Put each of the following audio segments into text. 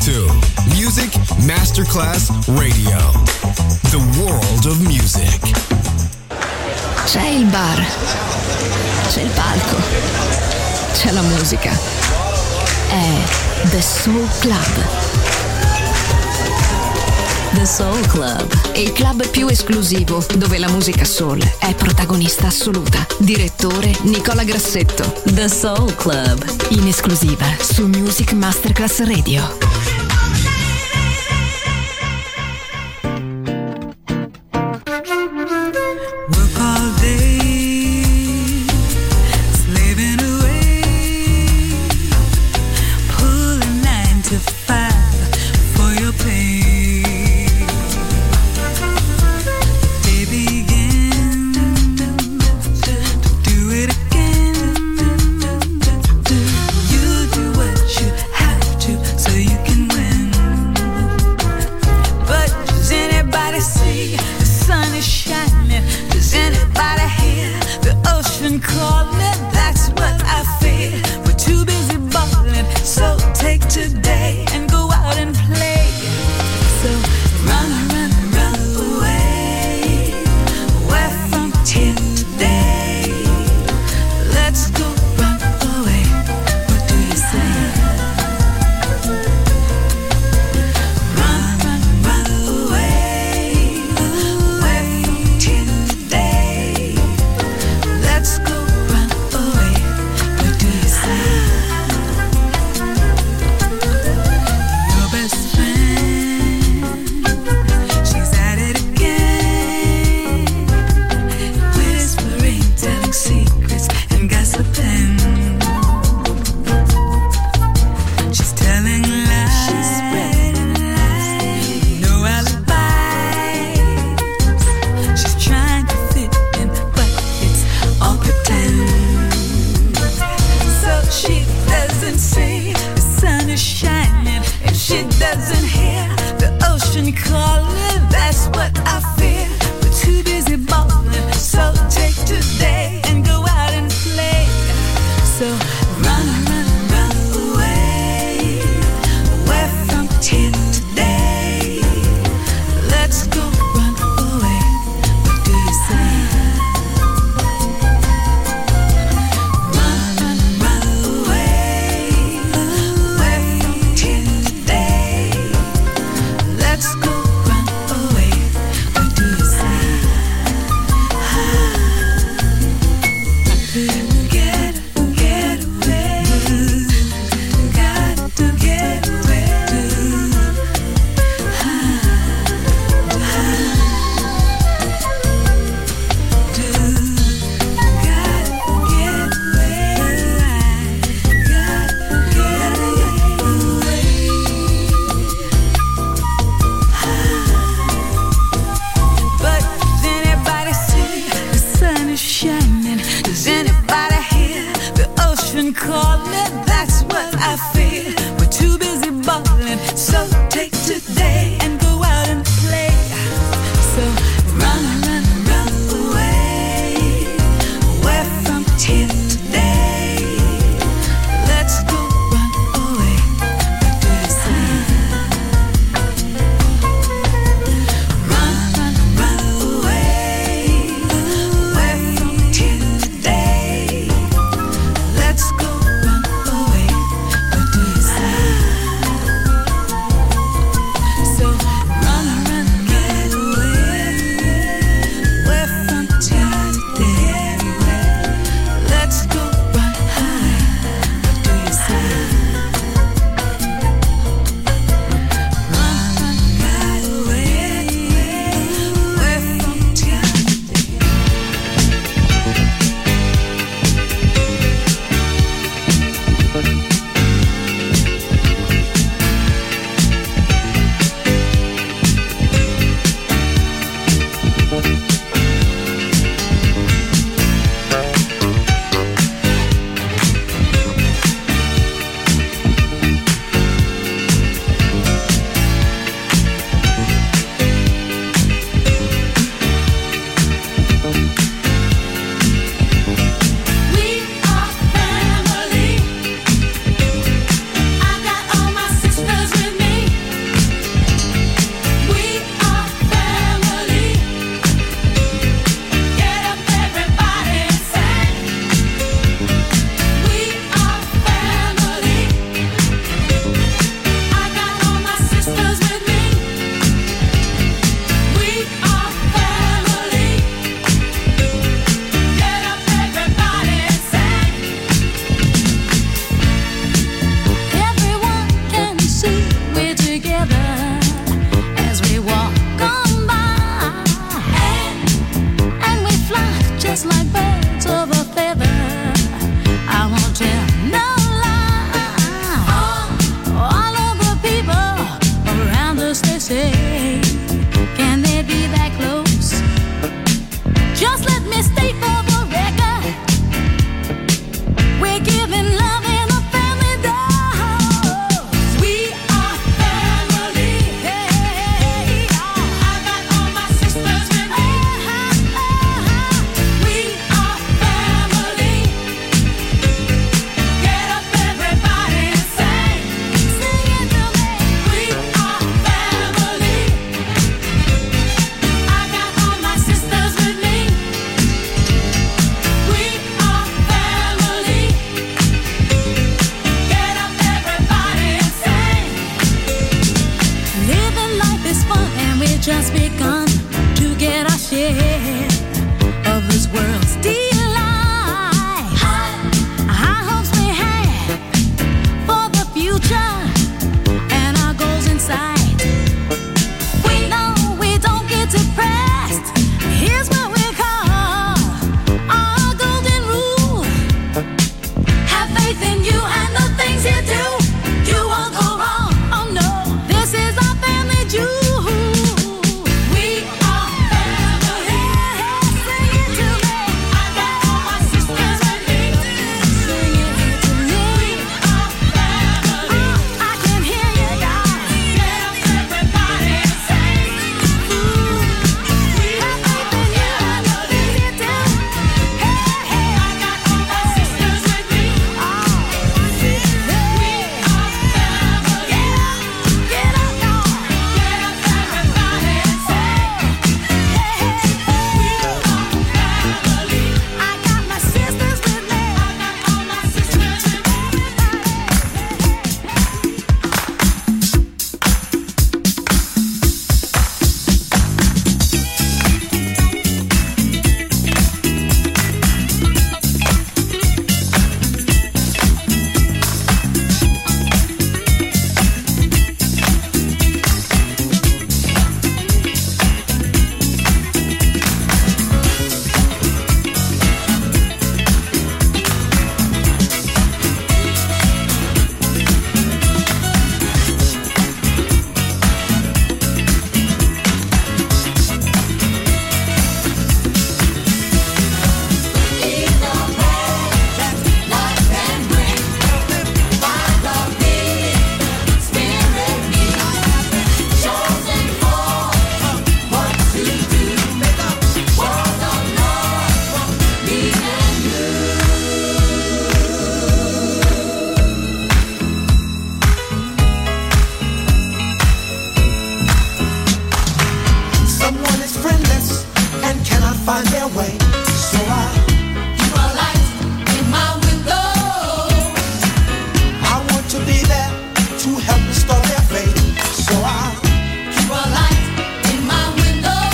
to Music Masterclass Radio. The world of music. C'è il bar, c'è il palco, c'è la musica. È The Soul Club. The Soul Club, il club più esclusivo dove la musica soul è protagonista assoluta. Direttore Nicola Grassetto. The Soul Club, in esclusiva su Music Masterclass Radio. find their way. So I keep a light in my window. I want to be there to help restore their faith. So I keep a light in my window.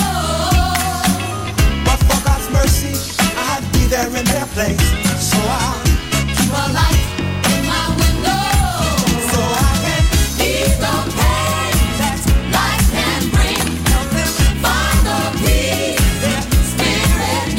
But for God's mercy, I'd be there in their place. So I keep a light in my window. So I can ease the pain that life can bring. Help them find the peace their spirit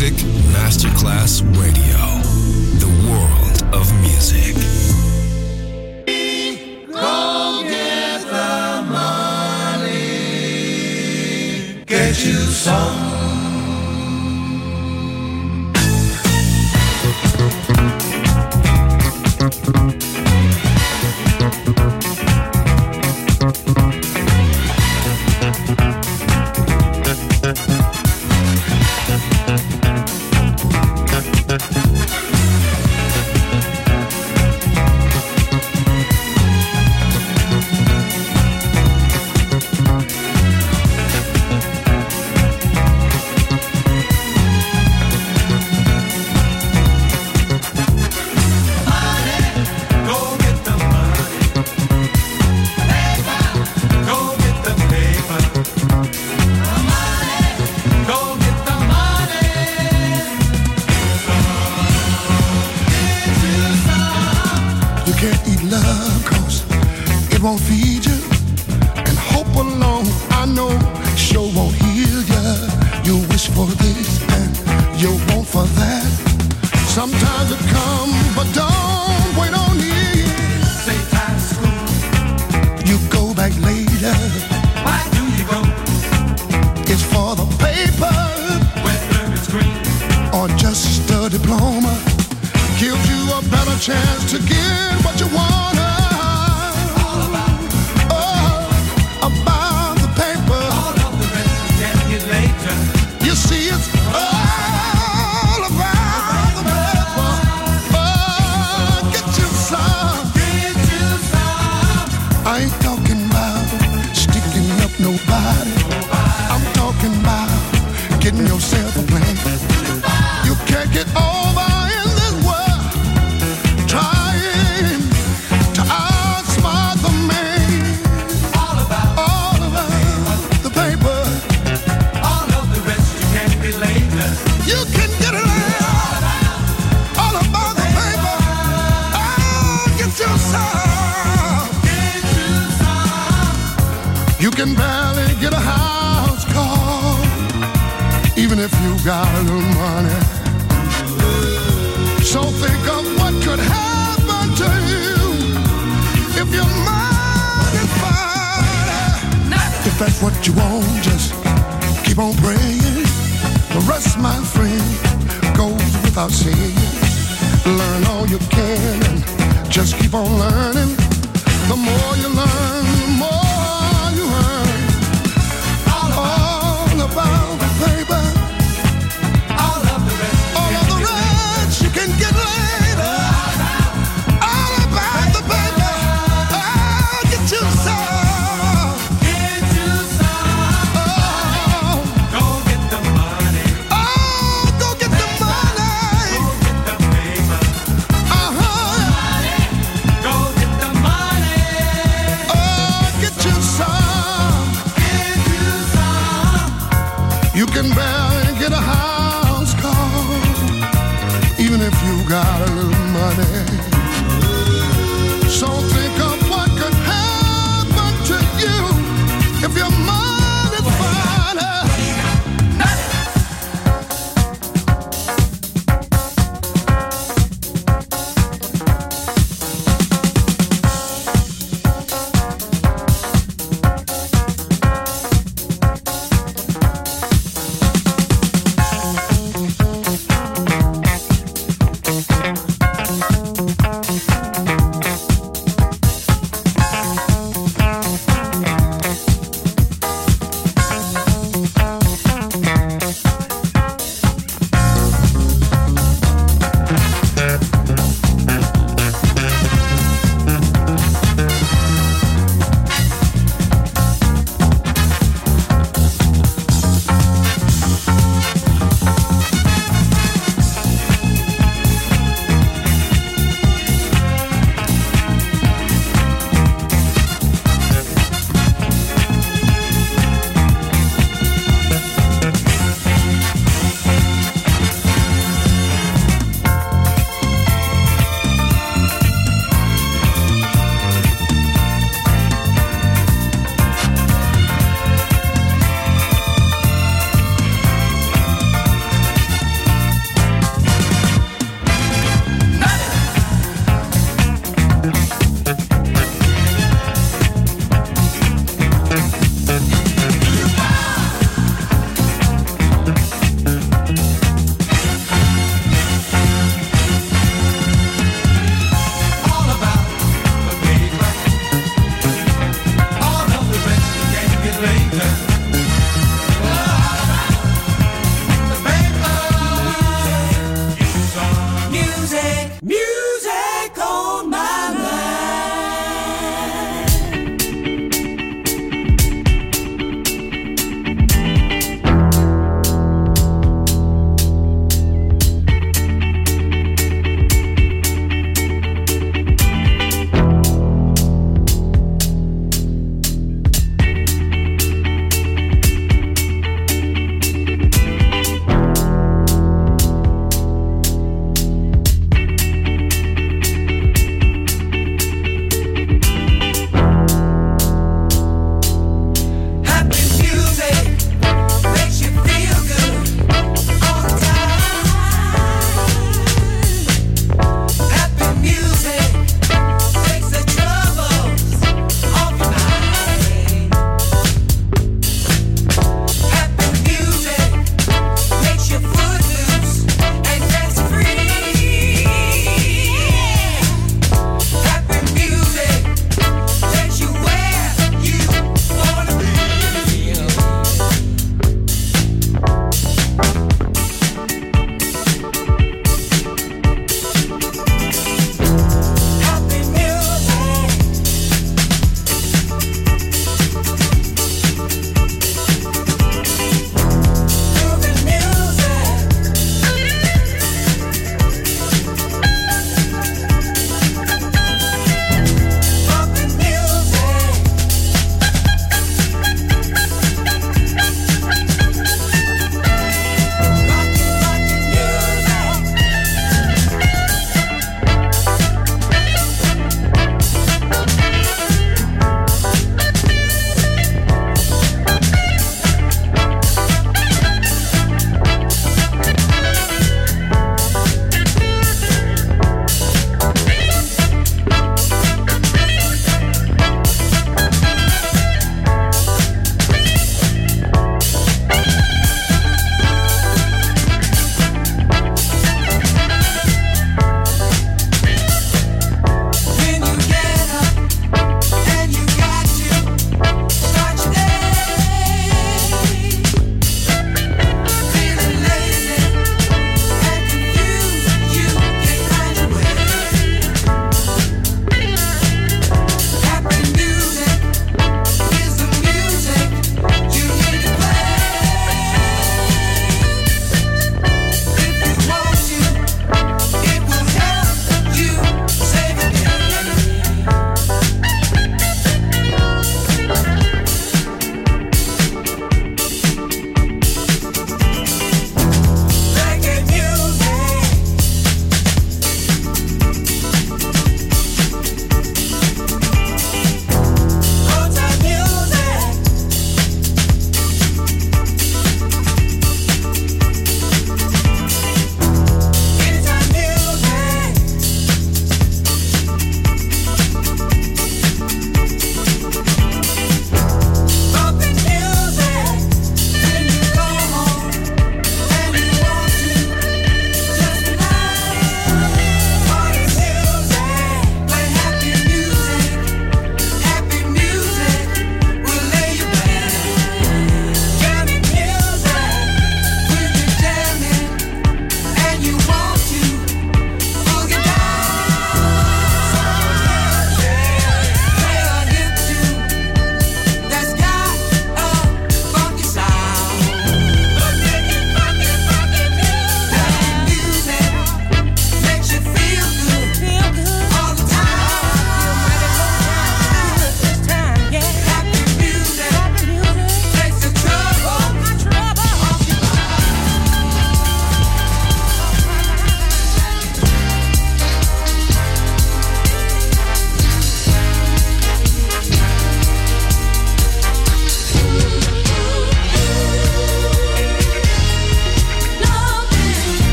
Music Masterclass Radio. The world of music. Go get the money. Get you some.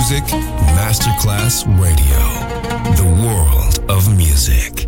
music, Masterclass Radio. The world of music.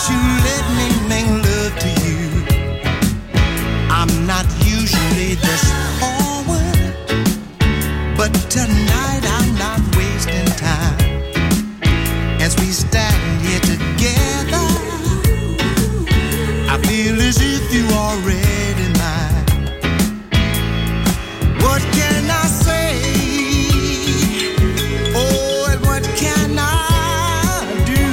you let me make love to you? I'm not usually this forward, but tonight I'm not wasting time. As we stand here together, I feel as if you already mine. What can I say? Oh, and what can I do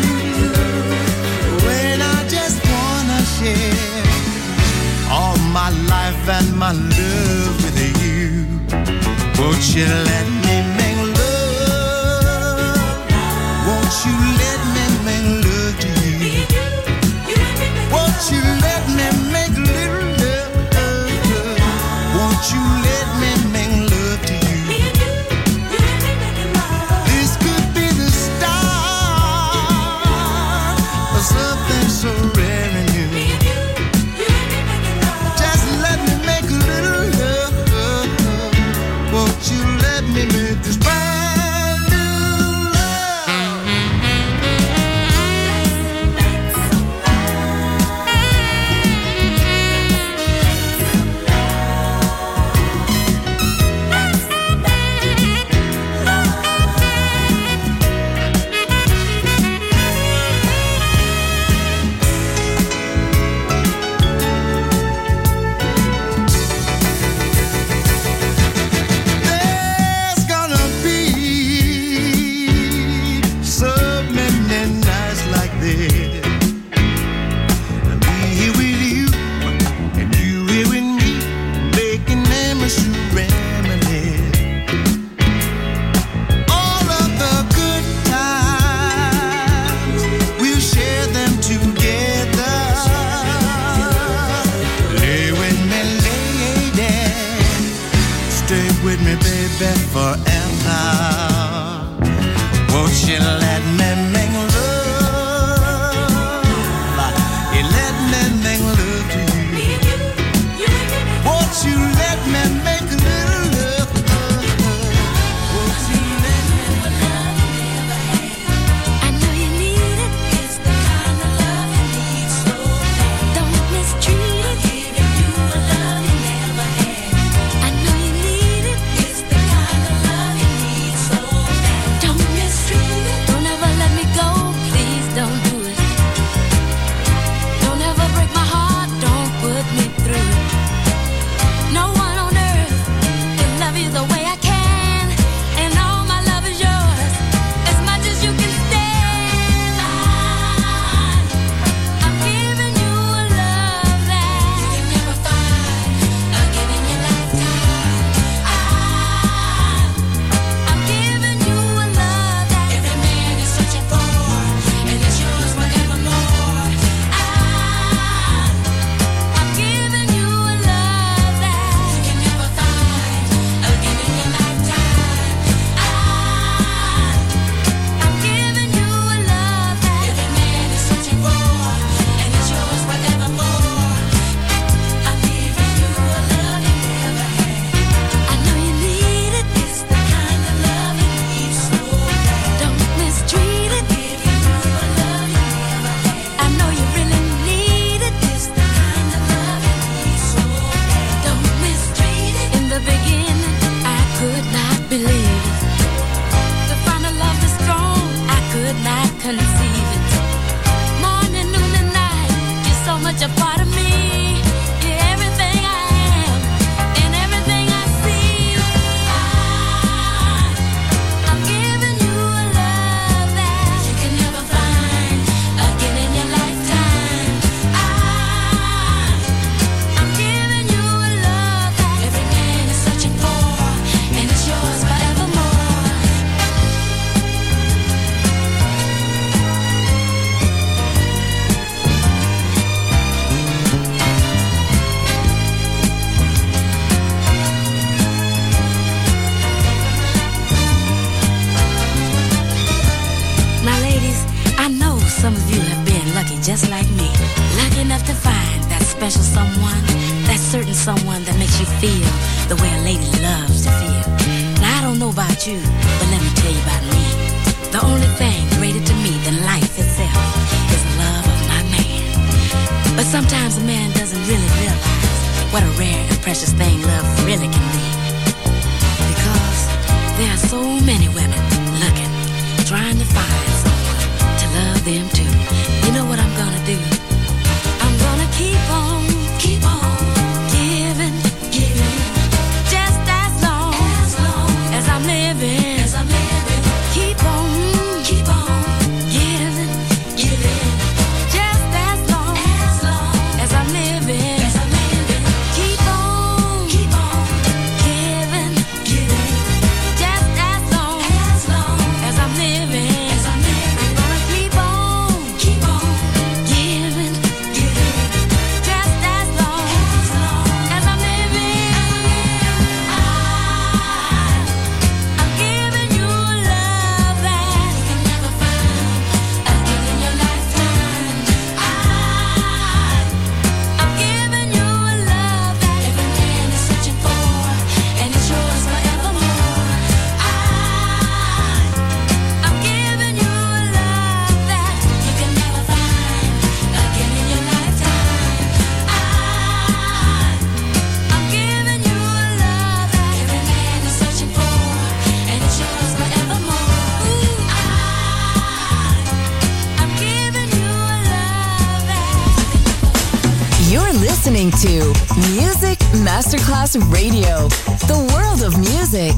when I just wanna share all my life and my love with you? Won't you let me make love? Won't you let me make love to you? Won't you let me make little love? Won't you let me make love to you? This could be the start of something so rare and new. Just let me make a little love. Won't you let me make this brand new love? There's gonna be so many nights like this. Me here with you, and you here with me, making memories to reminisce. All of the good times, we'll share them together. Lay with me, lady. Stay with me, baby, forever. Won't you let me make love? You let me make love to you. Won't you let me make a little love? Won't you let me? I know you need it. It's the kind of love you need so bad. Don't mistreat it. Giving you a love you never had. I know you need it. It's the kind of love you need so bad. Don't mistreat it. Don't ever let me go. Please don't do it. Don't ever break my heart. Don't put me through it. No one on earth can love you the way I can. And all my love is yours, as much as you can stand. I'm giving you a love that you can never find again in your lifetime. I'm giving you a love that every man is searching for, and it's yours forevermore. I'm giving you a love that you can never find again in your lifetime. I'm giving you a love that every man is searching for, and it's yours forevermore. I'm giving you a love you never had. I know you need it. It's the kind of love you need so bad. Don't mistreat it. Giving you a love you never had. I know you really need it. It's the kind of love you need so bad. Don't mistreat it. In the beginning, I could not believe it. To find a love this strong, I could not conceive it. Morning, noon, and night, you're so much a part of me. You're everything I am and everything I see. I'm giving you a love that you can never find again in your lifetime. I'm giving you a love that every man is searching for, and it's yours forevermore. Now, ladies, I know some of you have been lucky just like me. Lucky enough to find that special someone, that certain someone that makes you feel the way a lady loves to feel. Now, I don't know about you, but let me tell you about me. The only thing greater to me than life itself is the love of my But sometimes a man doesn't really realize what a rare and precious thing love really can be. Because there are so many women looking, trying to find someone to love them too. You know what I'm gonna do? I'm gonna keep on giving, just as long as I'm living. Keep on giving, just as long as I'm living. Keep on giving, just as long as I'm living. I'm gonna keep on giving, just as long as I'm living. I'm giving you love that you can never find again in your lifetime. I'm giving you love that every man is searching for, and it's yours forevermore. I'm giving you love that you can never find again in your lifetime. I'm giving you love that every man is searching for, and it's yours forevermore. I'm giving you love that. You're listening to Music Masterclass Radio, the world of music.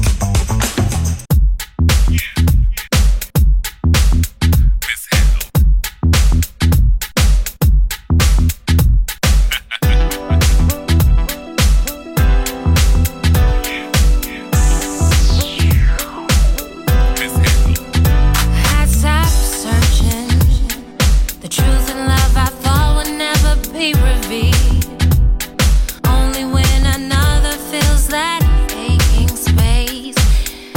As I was searching, the truth and love I thought would never be revealed. Only when another fills that aching space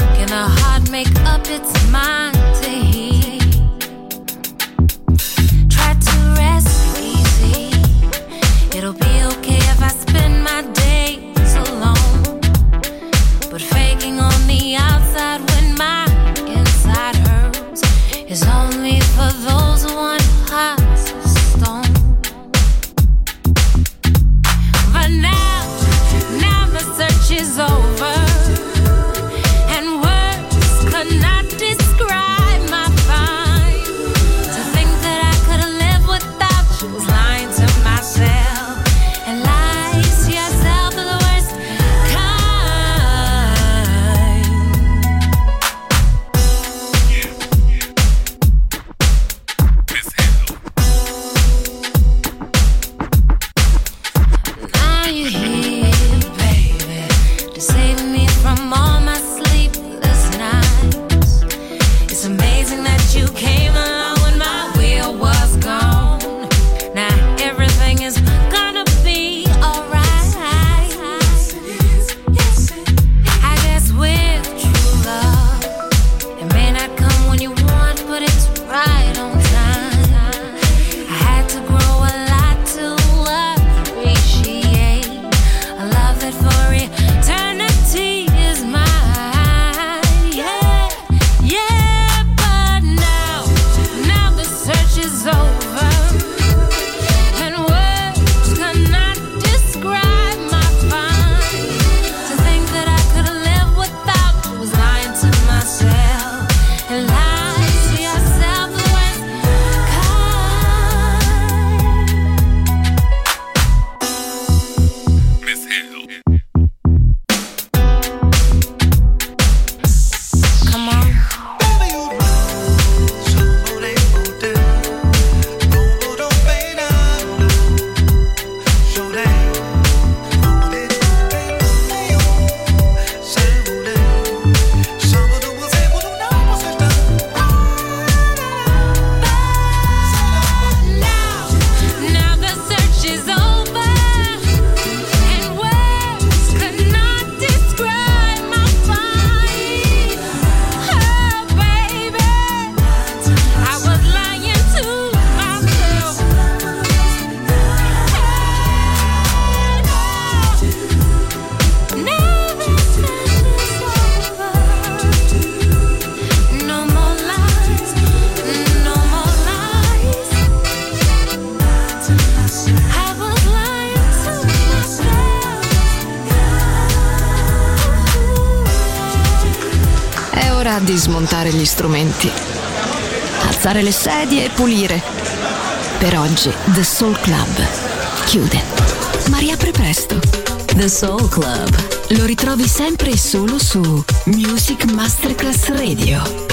toccherà dismontare gli strumenti, alzare le sedie e pulire. Per oggi The Soul Club chiude, ma riapre presto. The Soul Club lo ritrovi sempre e solo su Music Masterclass Radio.